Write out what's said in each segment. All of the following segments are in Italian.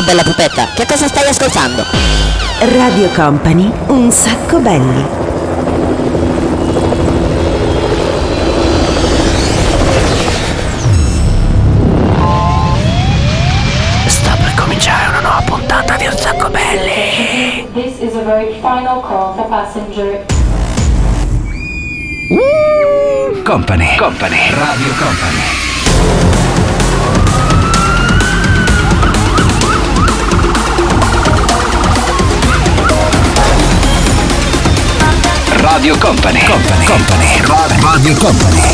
bella pupetta, che cosa stai ascoltando? Radio Company, un sacco belli. Sta per cominciare una nuova puntata di Un Sacco Belli. This is a very final call for passenger. Company, Radio Company. Radio Company. Radio Company.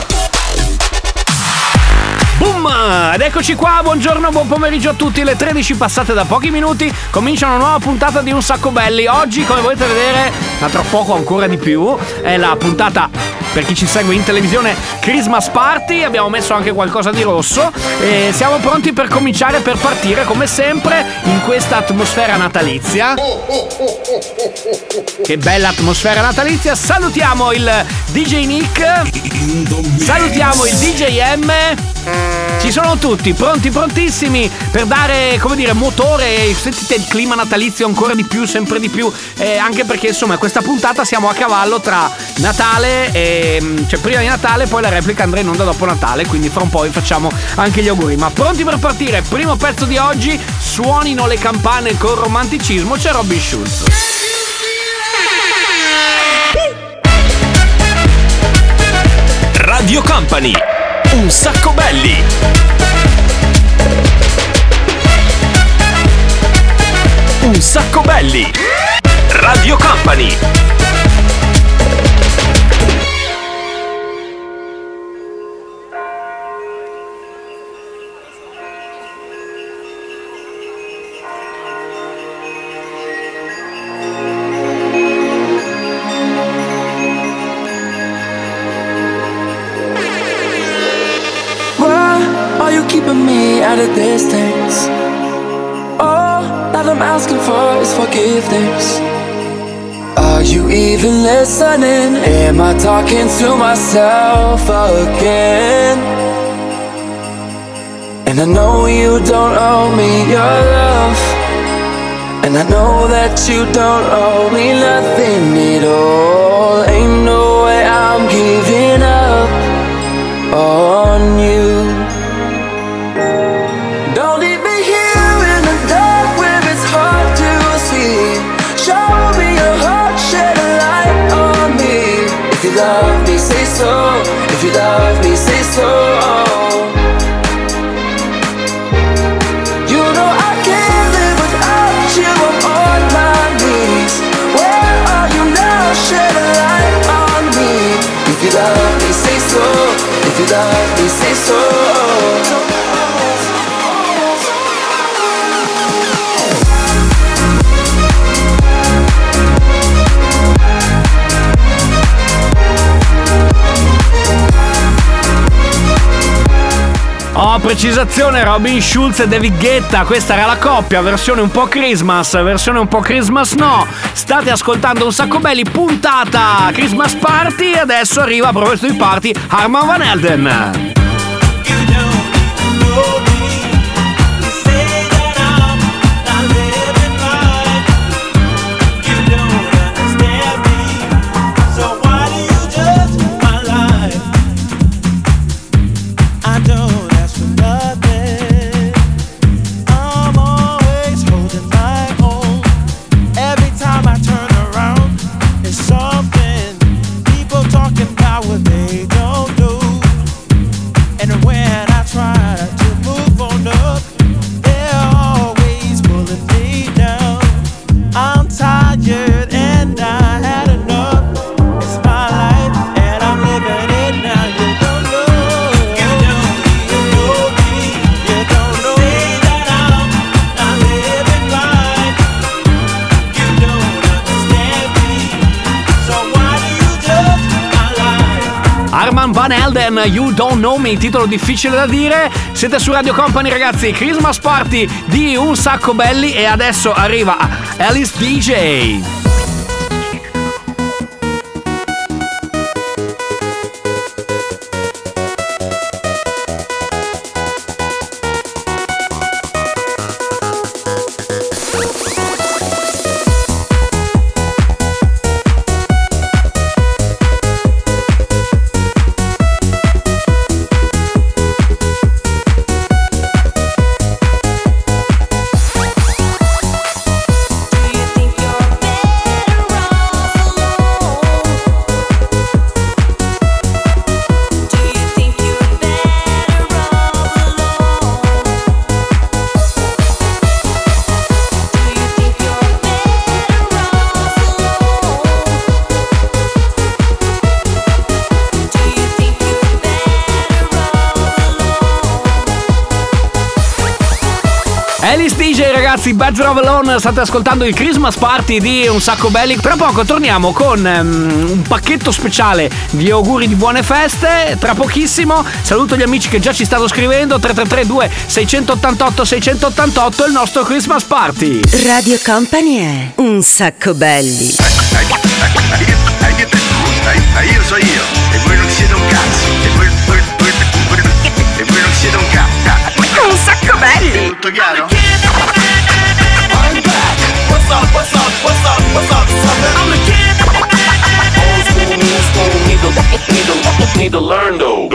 Boom! Ed eccoci qua, buongiorno, buon pomeriggio a tutti. Le 13 passate da pochi minuti, comincia una nuova puntata di Un Sacco Belli. Oggi, come potete vedere, tra poco ancora di più, è la puntata, per chi ci segue in televisione, Christmas Party. Abbiamo messo anche qualcosa di rosso e siamo pronti per cominciare, per partire come sempre in questa atmosfera natalizia. Che bella atmosfera natalizia. Salutiamo il DJ Nick, salutiamo il DJ M. Ci sono tutti pronti, prontissimi per dare, come dire, motore. Sentite il clima natalizio ancora di più, sempre di più, anche perché insomma questa puntata siamo a cavallo tra Natale e, cioè prima di Natale, poi la replica andrà in onda dopo Natale, quindi fra un po' vi facciamo anche gli auguri. Ma pronti per partire? Primo pezzo di oggi, suonino le campane con romanticismo, c'è Robin Schulz. Radio Company, Un Sacco Belli. Un Sacco Belli. Radio Company. Keeping me at a distance. All that I'm asking for is forgiveness. Are you even listening? Am I talking to myself again? And I know you don't owe me your love, and I know that you don't owe me nothing at all. Ain't no way I'm giving up on you. If you love me, say so. If you love me, say so. You know I can't live without you. I'm on my knees. Where are you now? Shed a light on me. If you love me, say so. If you love me, say so. Oh, precisazione, Robin Schulz e David Guetta. Questa era la coppia, versione un po' Christmas, versione un po' Christmas no. State ascoltando Un Sacco Belli, puntata Christmas Party. E adesso arriva, proprio sui party, Armand Van Helden. Van Helden, You Don't Know Me, titolo difficile da dire. Siete su Radio Company, ragazzi, Christmas Party di Un Sacco Belli. E adesso arriva Alice DJ. ragazzi, Bad Love Alone, state ascoltando il Christmas Party di Un Sacco Belli. Tra poco torniamo con un pacchetto speciale di auguri di buone feste. Tra pochissimo saluto gli amici che già ci stanno scrivendo. 333 688 688 il nostro Christmas Party. Radio Company è Un Sacco Belli. Io so io, e voi non siete un cazzo, e voi non siete un cazzo. Un Sacco Belli. Tutto chiaro? I'm back. What's up, what's up, what's up, what's up, son? I'm the kid. Old school, new school, need to learn though.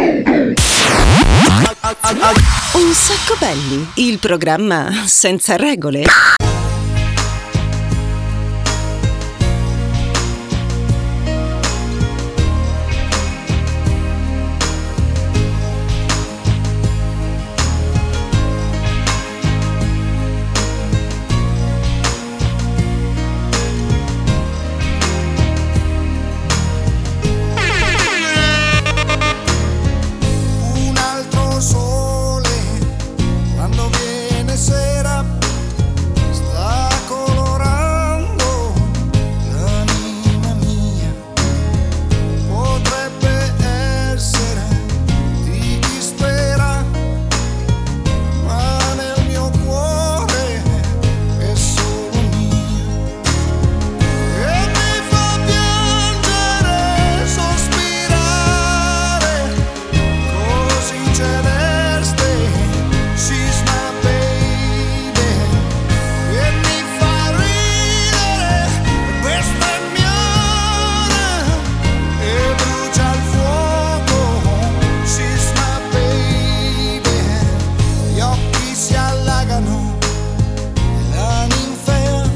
Un Sacco Belli, il programma senza regole. Quando viene sera sta colorando l'anima mia. Potrebbe essere di chi spera, ma nel mio cuore è solo mia. E mi fa piangere, sospirare, così celeste. She's my baby. E mi fa ridere, questa è mia ora, e brucia il fuoco. She's my baby. Gli occhi si allagano, la ninfea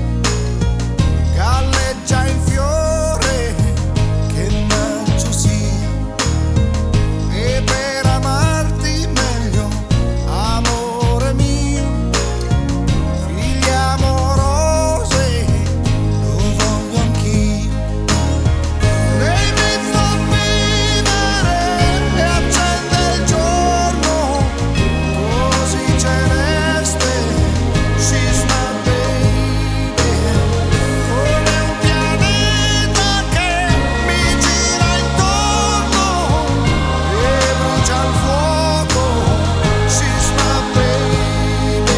galleggia in fiore, che maggio sia. E per amarti meglio, amore mio, figli amorose, lo voglio anch'io. Lei mi fa vivere e accende il giorno, così celeste. She's my baby. Come un pianeta che mi gira intorno e brucia il fuoco. She's my baby.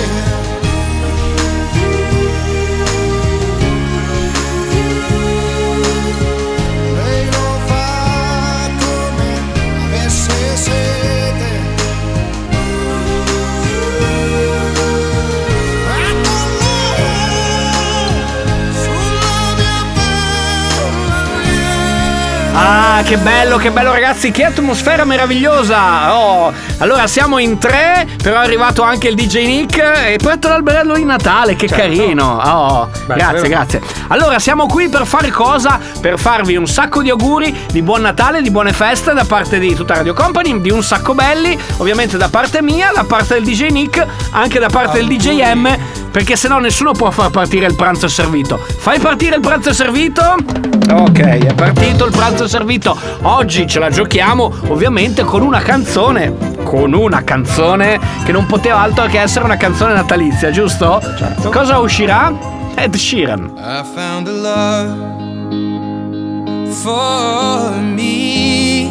Lei lo fa come avesse sete, e con lui sulla mia pelle. Ah, che bello ragazzi, che atmosfera meravigliosa. Oh, allora siamo in 3, però è arrivato anche il DJ Nick e poi l'alberello di Natale, che carino. Oh, grazie. Allora siamo qui per fare cosa? Per farvi un sacco di auguri di buon Natale, di buone feste da parte di tutta Radio Company, di Un Sacco Belli, ovviamente da parte mia, da parte del DJ Nick, anche da parte del DJ M, perché sennò nessuno può far partire il pranzo servito. Fai partire il pranzo servito? Ok, è partito il pranzo servito. Oggi ce la giochiamo ovviamente con una canzone che non poteva altro che essere una canzone natalizia, giusto? Certo. Cosa uscirà? Ed Sheeran. I found a love for me.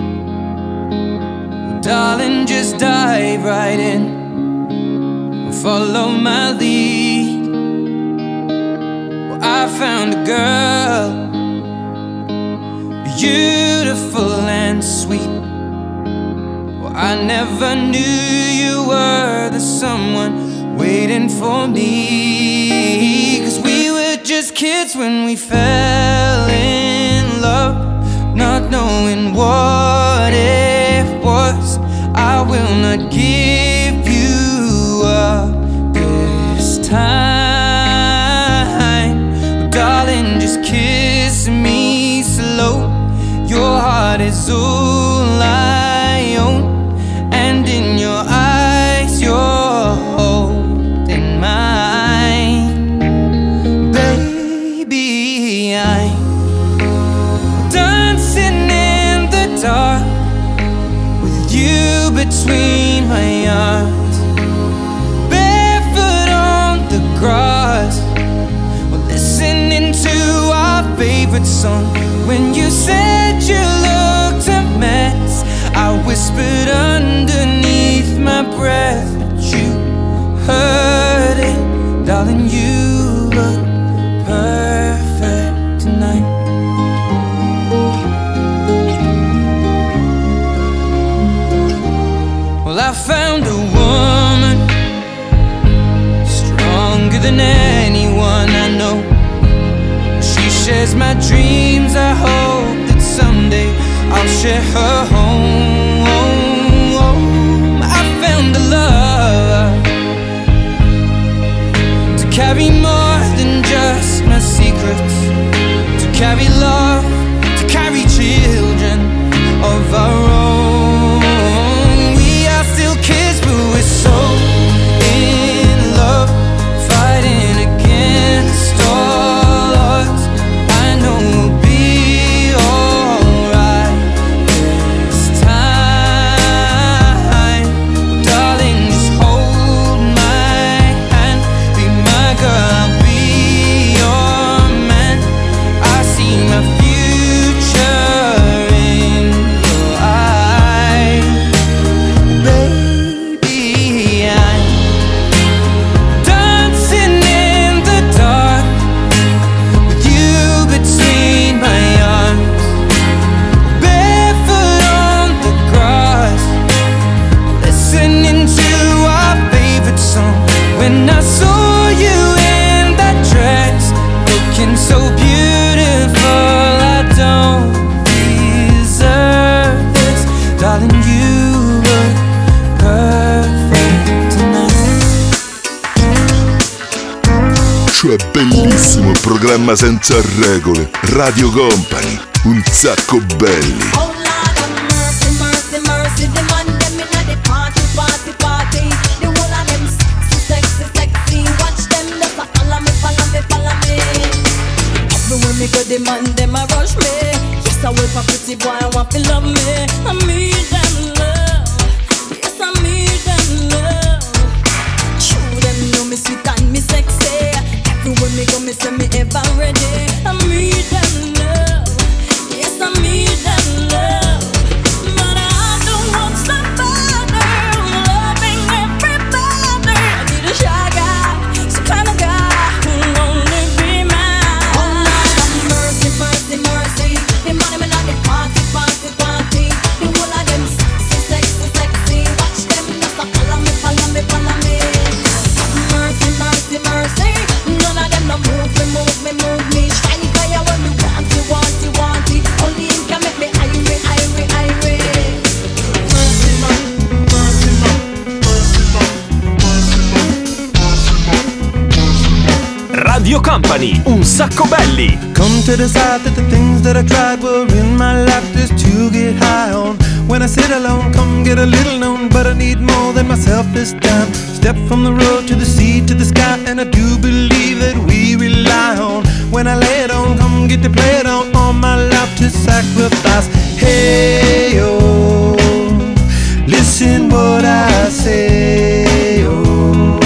Well, darling, just dive right in and follow my lead. Well, I found a girl, beautiful and sweet. Well, I never knew you were the someone waiting for me. 'Cause we were just kids when we fell in love, not knowing what it was. I will not give you up this time. Well, darling, just kiss me slow. Your heart is all I own, and in your eyes you're holding mine. Baby, I'm dancing in the dark with you between my arms, barefoot on favorite song. When you said you looked a mess, I whispered underneath my breath, but you heard it, darling. You look perfect tonight. Well, I found a woman stronger than anyone I know. She shares my dreams. I hope that someday I'll share her home. I found a love to carry more than just my secrets, to carry love, to carry children of our own. We are still kids, but we're so in love, fighting against all odds. I know we'll be alright this time, darling. Just hold my hand, be my girl, I'll be your man. I see my future in your eyes, baby. I'm dancing in the dark with you between my arms, barefoot on the grass, listening to our favorite song. When I saw you in that dress, looking so beautiful, I don't deserve this, darling. You look perfect tonight. Cioè bellissimo, programma senza regole, Radio Company, un sacco belli. Oh Lord have mercy, mercy, mercy. The man them inna the party, party, party. The whole of them sexy, sexy, sexy. Watch them just a follow me, follow me, follow me. Everywhere me go, the man them a rush me. Yes, I wait for pretty boy, I want to love me. I need them love. Yes, I need them love. True, them know me sweet and me sexy. Everywhere me go, me say me ever ready. I need them love. Yes, I need them love. But I don't want somebody loving everybody. I need a shy guy, some kind of guy who'll only be mine. Oh Lord have mercy, mercy, mercy. The money me not the party, party, party. The whole of them sexy, sexy, sexy. Watch them just a follow me, follow me, follow me. Mercy, mercy, mercy. None of them no move me, move me, move me. Shiny fire when me want you, want you, want it. Only him can make me irate, irate, irate. Mercy, man, mercy, man, mercy, man, mercy, man. Radio Company, un sacco belli. Come to decide that the things that I tried were in my life just to get high on. When I sit alone, come get a little known, but I need more than myself this time. Step from the road to the sea to the sky, and I do believe that we rely on. When I lay it on, come get to play it on, all my life to sacrifice. Hey, oh, listen what I say, oh.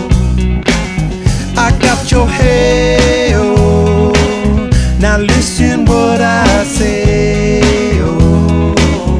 I got your hey, oh, now listen what I say, oh.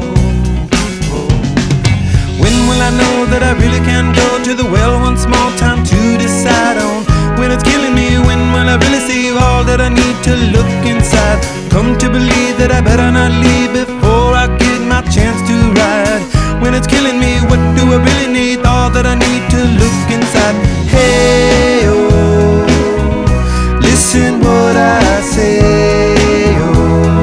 When will I know that I really can go to the well one small time to decide on? When it's killing me, when will I really see all that I need to look inside? Come to believe that I better not leave before I get my chance to ride. When it's killing me, what do I really need? All that I need to look inside. Hey, oh, listen what I say, oh.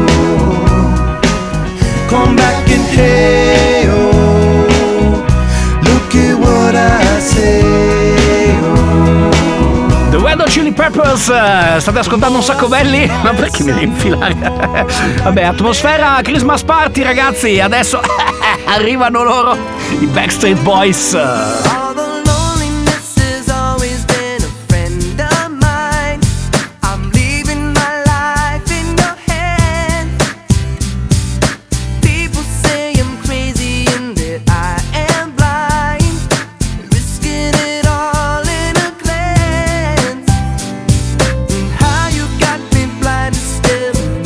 Come back and hey, oh, look at what I say, oh. The Red Hot Chili Peppers, state ascoltando un sacco belli? Ma perché mi devi infilare? Vabbè, atmosfera Christmas Party, ragazzi. Adesso arrivano loro, i Backstreet Boys. All the loneliness has always been a friend of mine. I'm leaving my life in your hands. People say I'm crazy and that I am blind, risking it all in a glance. And how you got me blind is still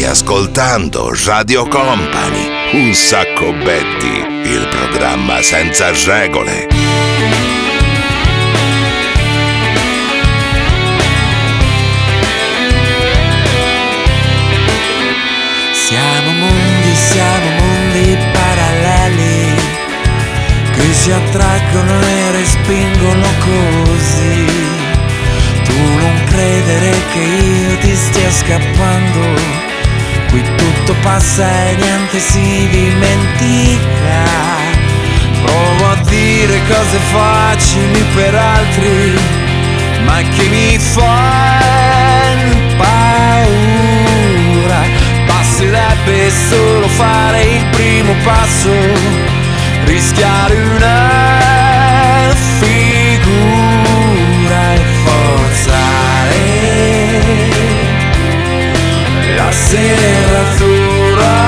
Stai ascoltando Radio Company, un sacco belli, il programma senza regole. Siamo mondi paralleli che si attraggono e respingono così. Tu non credere che io ti stia scappando, qui tutto passa e niente si dimentica. Provo a dire cose facili per altri, ma che mi fanno paura. Basterebbe solo fare il primo passo, rischiare una figura e forzare la serratura.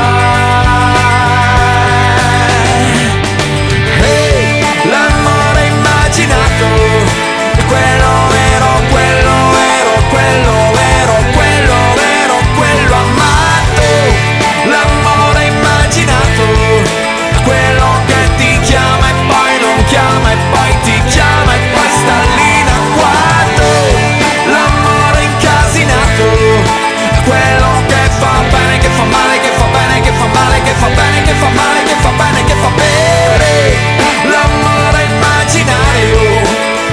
Hey, l'amore immaginato, quello vero, quello vero, quello vero, quello vero, quello amato. L'amore immaginato, quello che ti chiama e poi non chiama e poi ti chiama e poi sta lì in agguato. L'amore incasinato, quello che fa bene, che fa male, che fa bene, che fa male, che fa bene, che fa male, che fa bene, che fa bene. L'amore immaginario.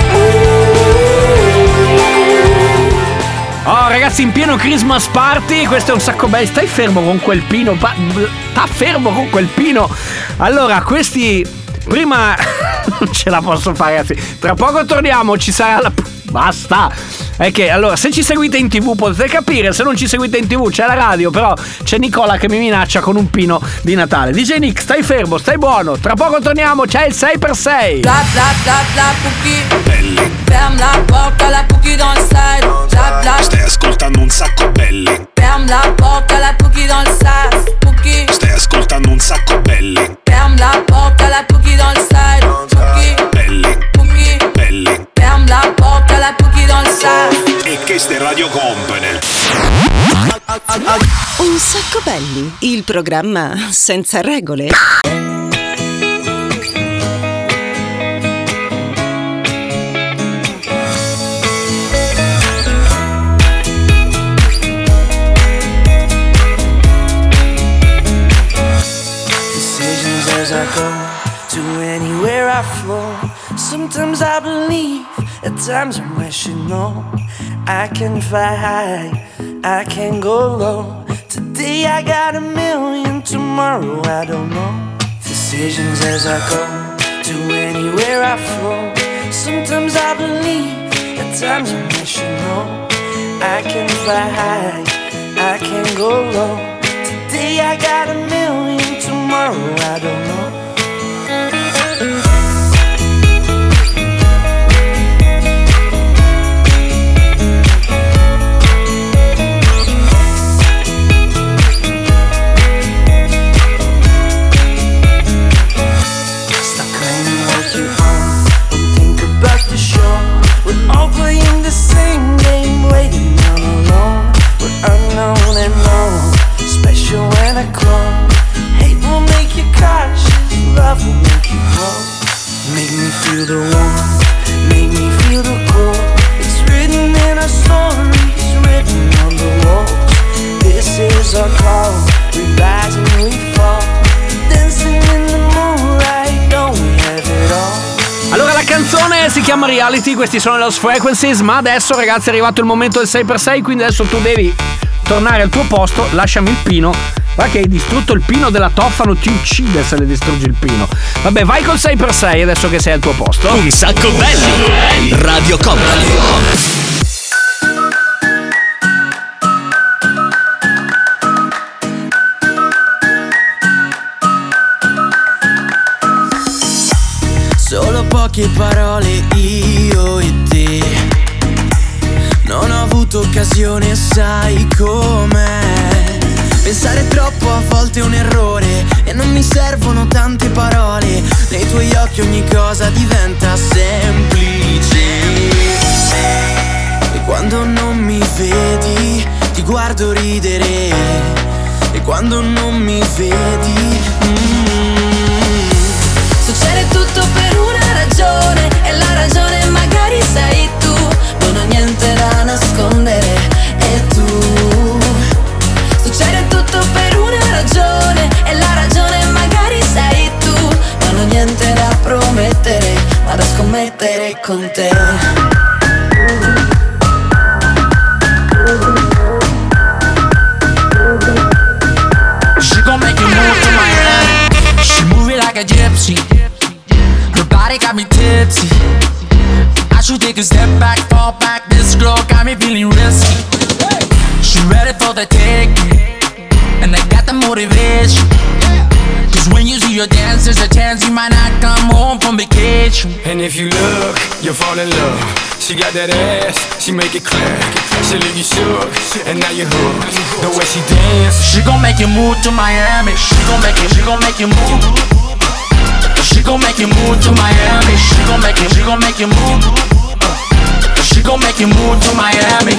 Oh ragazzi, in pieno Christmas party, questo è un sacco bello. Stai fermo con quel pino, sta fermo con quel pino. Allora, questi prima non ce la posso fare, ragazzi. Tra poco torniamo, ci sarà la... Basta. È che allora, se ci seguite in TV potete capire, se non ci seguite in TV c'è la radio, però c'è Nicola che mi minaccia con un pino di Natale. DJ Nick, stai fermo, stai buono. Tra poco torniamo, c'è il 6x6. Bla bla bla bla Cookie. Ferme la porte, la Cookie dans le side. Bla bla. Stai ascoltando un sacco belli. Ferme la porte, la Cookie dans le side. Cookie. Stai ascoltando un sacco belli. Ferme la porte, la Cookie dans le side. Cookie. Belli. Cookie. Belli. Ferme la porte, la Cookie dans le side. E questa è Radio Company. Un sacco belli, il programma senza regole. Decisions as I go to anywhere I flow. Sometimes I believe, at times I'm wishing no. I can fly high, I can go low. Today I got a million, tomorrow I don't know. Decisions as I go to anywhere I flow. Sometimes I believe, at times I'm wishing no. I can fly high, I can go low. Today I got a million, tomorrow I don't know. All playing the same game, waiting on alone. We're unknown and known, special when I clone. Hate will make you cautious, love will make you grow. Make me feel the warmth, make me feel the cold. It's written in our stories, written on the walls. This is our call, we rise and we fall. Dancing in the moonlight, don't we have it all? Allora la canzone si chiama Reality, questi sono Lost Frequencies, ma adesso ragazzi è arrivato il momento del 6x6, quindi adesso tu devi tornare al tuo posto, lasciami il pino, va che hai distrutto il pino della Tofano, ti uccide se le distruggi il pino. Vabbè, vai col 6x6 adesso che sei al tuo posto. Un sacco belli, Radio Company. Solo poche parole io e te. Non ho avuto occasione, sai com'è. Pensare troppo a volte è un errore e non mi servono tante parole. Nei tuoi occhi ogni cosa diventa semplice. E quando non mi vedi ti guardo ridere. quando non mi vedi. Succede tutto per una ragione, e la ragione magari sei tu. Non ho niente da nascondere, e tu. Succede tutto per una ragione, e la ragione magari sei tu. Non ho niente da promettere, ma da scommettere con te. She gon' make you move to Miami. She move it like a gypsy. Her body got me tipsy. I should take a step back, fall back. This girl got me feeling risky. She ready for the taking, and I got the motivation. Cause when you see your dance, there's a chance you might not come home from vacation. And if you look, you'll fall in love. She got that ass, she make it clap. She leave you shook, and now you're hooked. The way she dance, she gon' make you move to Miami. She gon' make you move. She gon' make you move to Miami. She gon' make you move. She gon' make you move to Miami.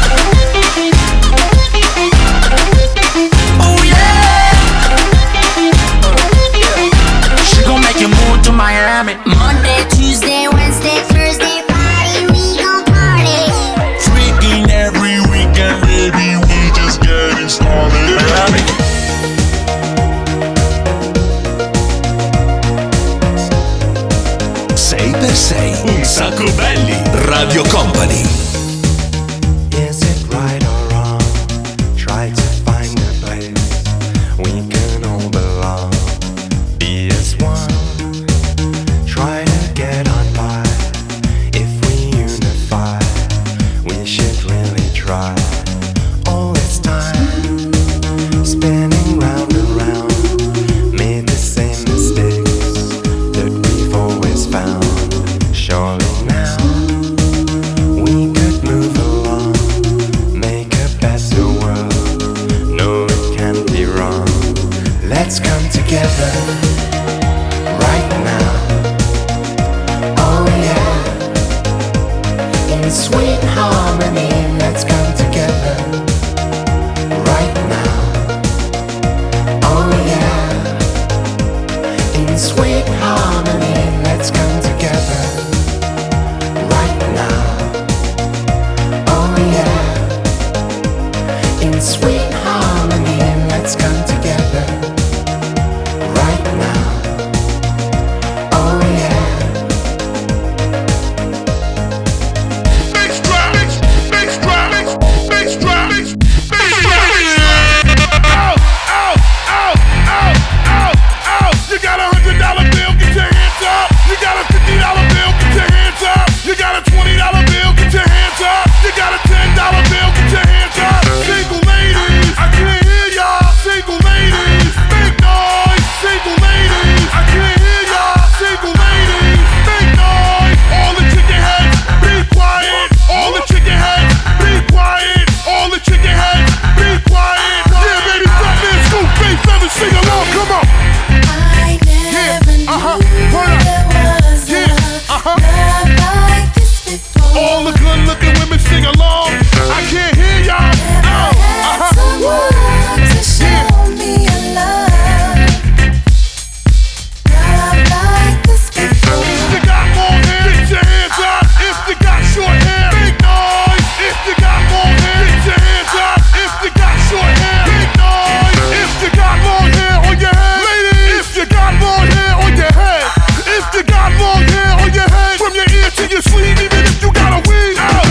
Oh yeah. She gon' make you move to Miami. Monday, Tuesday, Wednesday, Thursday, Friday, we gon' party. Freaking every weekend, baby, we just getting started. Miami. Sei per sei, un sacco belli. Radio Company. Is it right or wrong? Try to find a place we can all belong. Be as one. Try to get on by. If we unify, we should really try. All this time, spinning round and round, made the same mistakes that we've always found. Surely now we could move along, make a better world. No, it can't be wrong. Let's come together right now. Oh yeah, in sweet harmony. Let's come together right now. Oh yeah, in sweet harmony. Let's come together right now. Oh yeah, in sweet harmony. Let's come together right now. Oh yeah. Bass drop, bass drop, bass drop, bass drop. Ow, ow, ow, ow, ow, ow. You got $100 bill, get your hands up. You got a $50 bill, get your hands up. You got a $20 bill, get your hands up. You got a $10 bill, get your hands up. Single ladies, I can't hear y'all. Single ladies, make noise. Single ladies, I can't hear y'all. Single ladies, make noise. All the chicken heads, be quiet. All the chicken heads, be quiet. All the chicken heads, be quiet. Yeah, baby, stop there, scoop, bass, feathers, sing along, come on. I never knew there was love like this before. All the good looking women sing along. I can't hear y'all. Someone to show me a love like this before. If you got long hair, get your hands up. If you got short hair, make noise. If you got long hair, get your hands up. If you got short hair, make noise. If you got long hair on your head, ladies. If you got long hair on your head. If you got long hair on your head, from your ear to your sleeve, even if you got a weed out.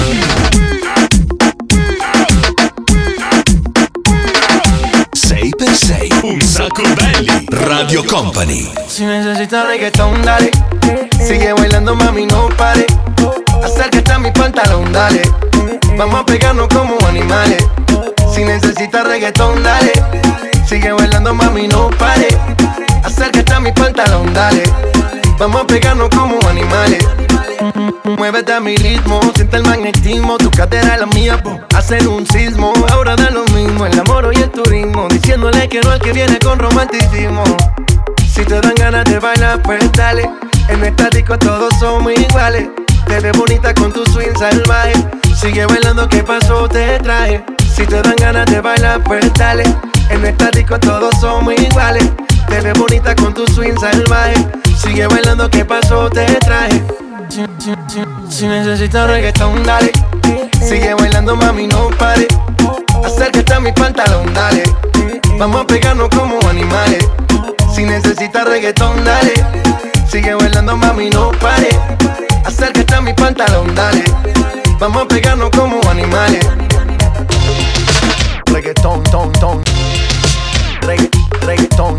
Sei per sei, un sacco belli. Radio Company. Si necesitas reggaetón, dale. Sigue bailando, mami, no pare. Acércate a mi pantalón, dale. Vamos a pegarnos como animales. Si necesitas reggaetón, dale. Sigue bailando, mami, no pare. Acércate a mi pantalón, dale. Vamos a pegarnos como animales. Muévete a mi ritmo, siente el magnetismo. Tu cadera es la mía, hacen un sismo. Ahora da lo mismo, el amor y el turismo. Diciéndole que no al que viene con romanticismo. Si te dan ganas de bailar, pues dale. En esta disco todos somos iguales. Te ves bonita con tu swing salvaje. Sigue bailando, ¿qué pasó? Te traje. Si te dan ganas de bailar, pues dale. En esta disco todos somos iguales. Te ves bonita con tu swing salvaje. Sigue bailando, ¿qué pasó? Te traje. Si necesitas reggaetón, dale. Sigue bailando, mami, no pare. Acércate a mi pantalón, dale. Vamos a pegarnos como animales. Si necesitas reggaetón, dale. Sigue bailando, mami, no pare. Acércate a mi pantalón, dale. Vamos a pegarnos como animales. Reggaetón, ton, ton. Reggaetón.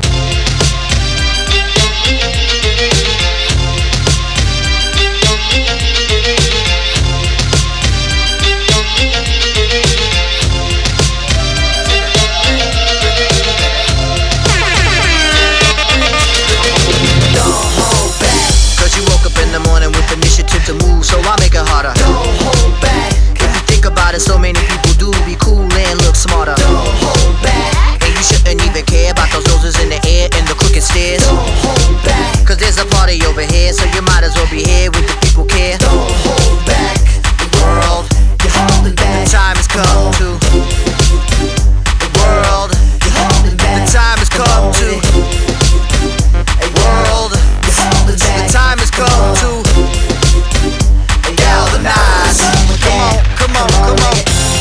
To move, so I make it harder. Don't hold back. If you think about it, so many people do be cool and look smarter. Don't hold back. And you shouldn't even care about those noses in the air and the crooked stairs. Don't hold back. Cause there's a party over here, so you might as well be here with the people care. Don't hold back. The world, you're holding back. The time has come to. The world, you're holding back. The time has come to. A world, you're holding back. The time has come to. Come on.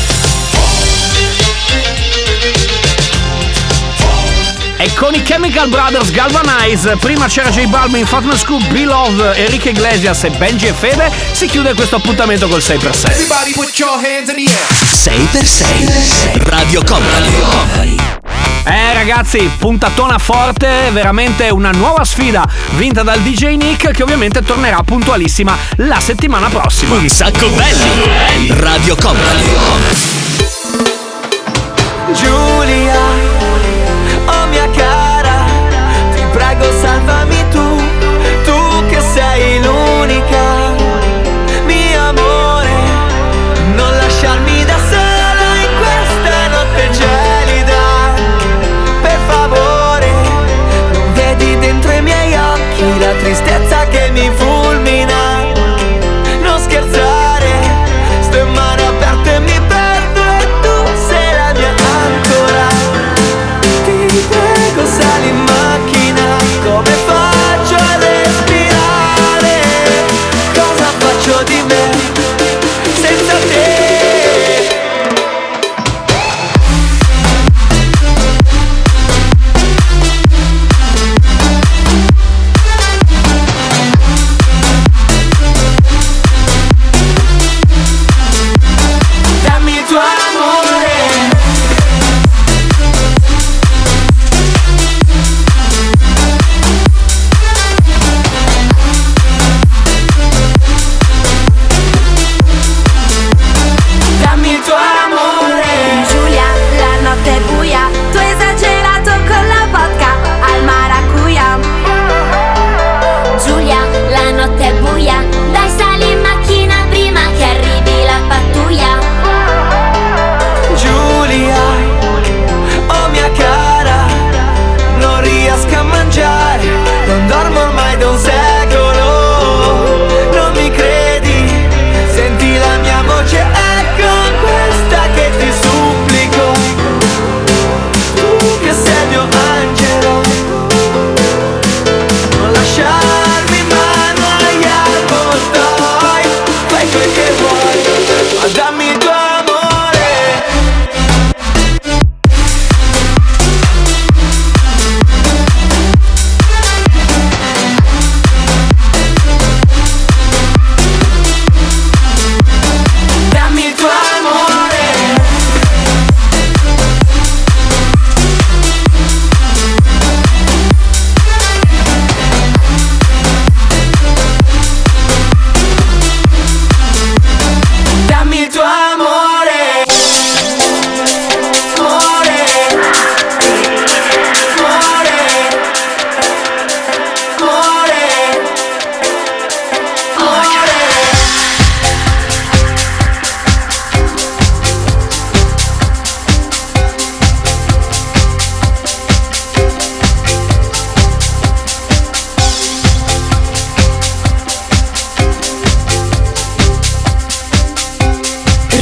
E con i Chemical Brothers Galvanize, prima c'era J Balvin, Fatman Scoop, B-Love, Enrique Iglesias e Benji e Fede. Si chiude questo appuntamento col 6x6. Everybody put your hands in the air. 6x6 Radio Company. Ragazzi, puntatona forte, veramente una nuova sfida vinta dal DJ Nick, che ovviamente tornerà puntualissima la settimana prossima. Un sacco belli. Radio Company. Giulia, oh mia cara, ti prego salvami tu che sei l'unica. Mio amore, non lasciarmi da sola in questa notte gelida. Per favore, non vedi dentro i miei occhi la tristezza che mi fulmina. Non scherzare, sto in mano aperte e mi perdo e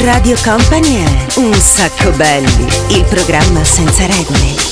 Radio Company è Un Sacco Belli, il programma senza regole.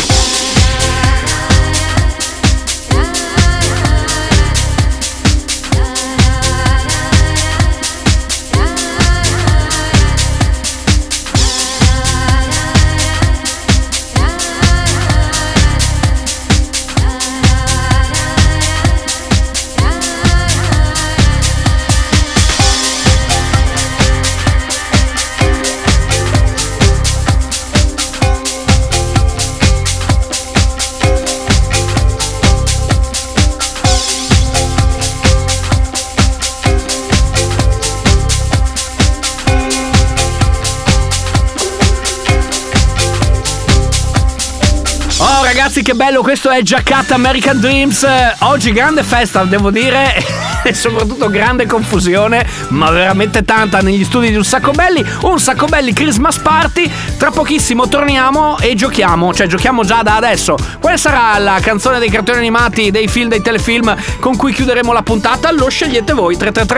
Ragazzi, che bello, questo è Giaccatta American Dreams. Oggi grande festa, devo dire, e soprattutto grande confusione, ma veramente tanta negli studi di Un Sacco Belli. Un Sacco Belli Christmas Party. Tra pochissimo torniamo e giochiamo, cioè giochiamo già da adesso. Quale sarà la canzone dei cartoni animati, dei film, dei telefilm con cui chiuderemo la puntata? Lo scegliete voi.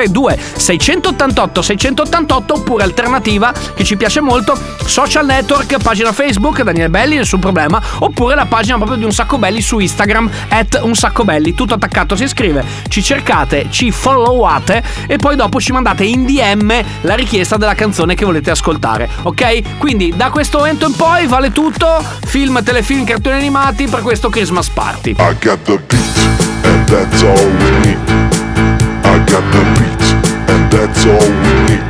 333-2688-688 oppure alternativa, che ci piace molto, social network, pagina Facebook Daniele Belli, nessun problema, oppure la pagina proprio di Un Sacco Belli su Instagram @unsaccoBelli, tutto attaccato, si scrive, ci cercate, ci followate e poi dopo ci mandate in DM la richiesta della canzone che volete ascoltare, ok? Quindi da questo momento in poi vale tutto, film, telefilm, cartoni animati per questo Christmas Party. I got the beat, and that's all we need. I got the beat, and that's all we need.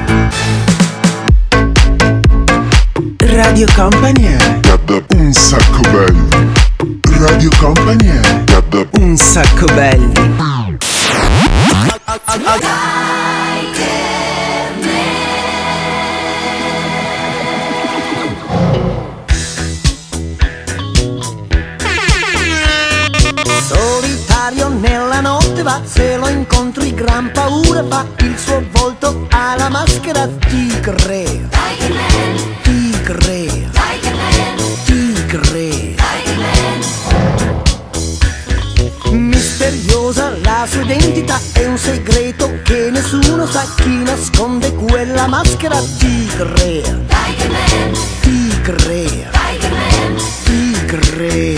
Radio Company è Un Sacco Belli. Radio Company è Un Sacco Belli. Solitario nella notte va, se lo incontri gran paura fa, il suo volto ha la maschera tigre. Tigre. Tigre. Misteriosa la sua identità, è un segreto che nessuno sa, chi nasconde quella maschera tigre. Tigre. Tigre.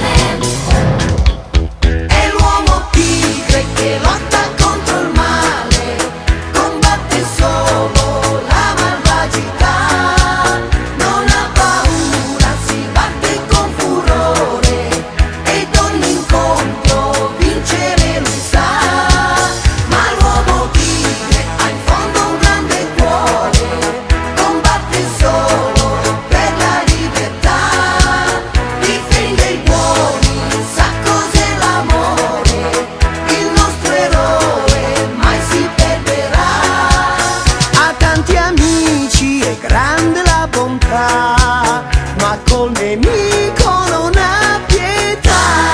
È l'uomo tigre che lotta contro il male, combatte solo la malvagità, non ha paura, si batte con furore ed ogni incontro vincere lui sa. Ma l'uomo tigre ha in fondo un grande cuore, combatte solo per la libertà, difende i buoni, sa cos'è l'amore, il nostro eroe mai si perderà. Ha tanti amici e grande la bontà, ma col nemico non ha pietà.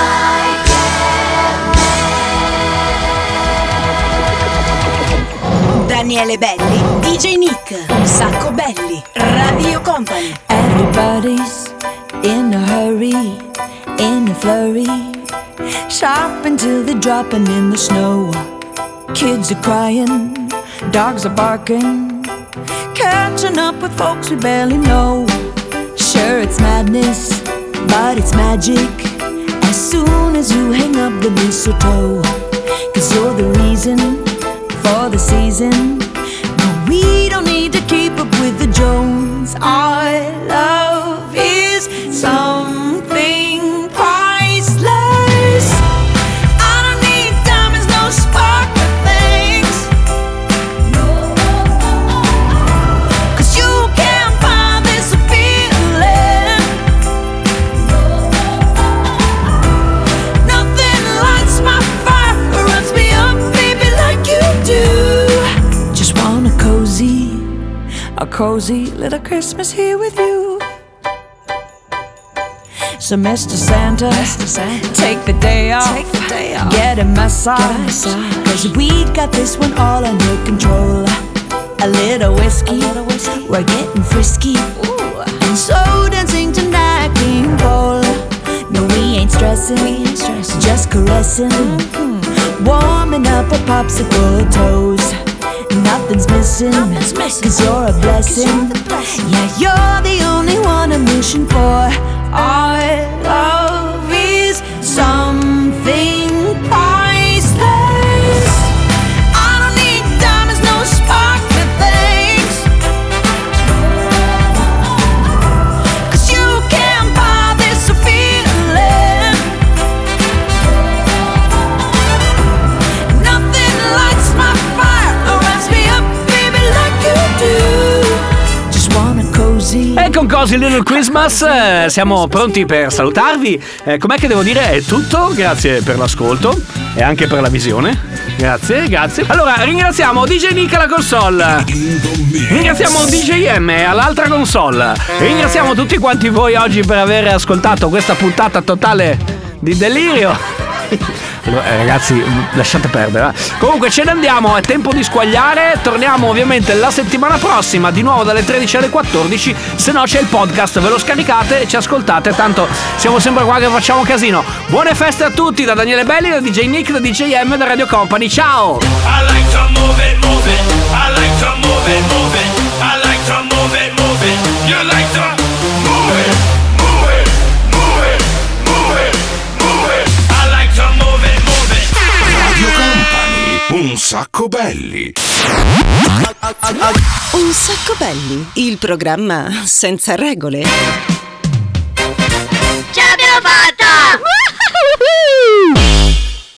Daniele Belli, DJ Nick, Un Sacco Belli, Radio Company. Everybody's in a hurry, in a flurry, shopping till they're dropping in the snow. Kids are crying, dogs are barking, catching up with folks we barely know. Sure, it's madness, but it's magic as soon as you hang up the mistletoe. 'Cause you're the reason for the season. No, we don't need to keep up with the Jones. Our love is something priceless. I don't need diamonds, no sparkle things. No, 'cause you can't buy this feeling. Nothing lights my fire or runs me up, baby, like you do. Just want a cozy little Christmas here with you. So Mr. Santa, take the day off, get a massage, 'cause we got this one all under control. A little whiskey, we're getting frisky, and so dancing tonight, King Cole. No, we ain't stressing, just caressing, warming up our popsicle toes. Nothing's missing, else, 'cause you're a blessing. Yeah, you're the only one I'm wishing for. Our love is something priceless. I don't need diamonds, no sparkly things, 'cause you can't buy this feeling. Nothing lights my fire or wraps me up, baby, like you do. Just wanna cozy. E con Cozy Little Christmas siamo pronti per salutarvi. Com'è che devo dire? È tutto. Grazie per l'ascolto e anche per la visione. Grazie. Allora, ringraziamo DJ Nick alla console. Ringraziamo DJ M all'altra console. Ringraziamo tutti quanti voi oggi per aver ascoltato questa puntata totale di delirio. Ragazzi, lasciate perdere. Comunque ce ne andiamo, è tempo di squagliare. Torniamo ovviamente la settimana prossima, di nuovo dalle 13 alle 14. Se no c'è il podcast, ve lo scaricate e ci ascoltate. Tanto siamo sempre qua che facciamo casino. Buone feste a tutti da Daniele Belli, da DJ Nick, da DJ M, da Radio Company. Ciao. I like to move it, move it. I like to move it, move it. I like to move it, move it. You like to move it, move it, move it, move it, move it. I like to move it, move it. Radio Company, un sacco belli. Un sacco belli, il programma senza regole.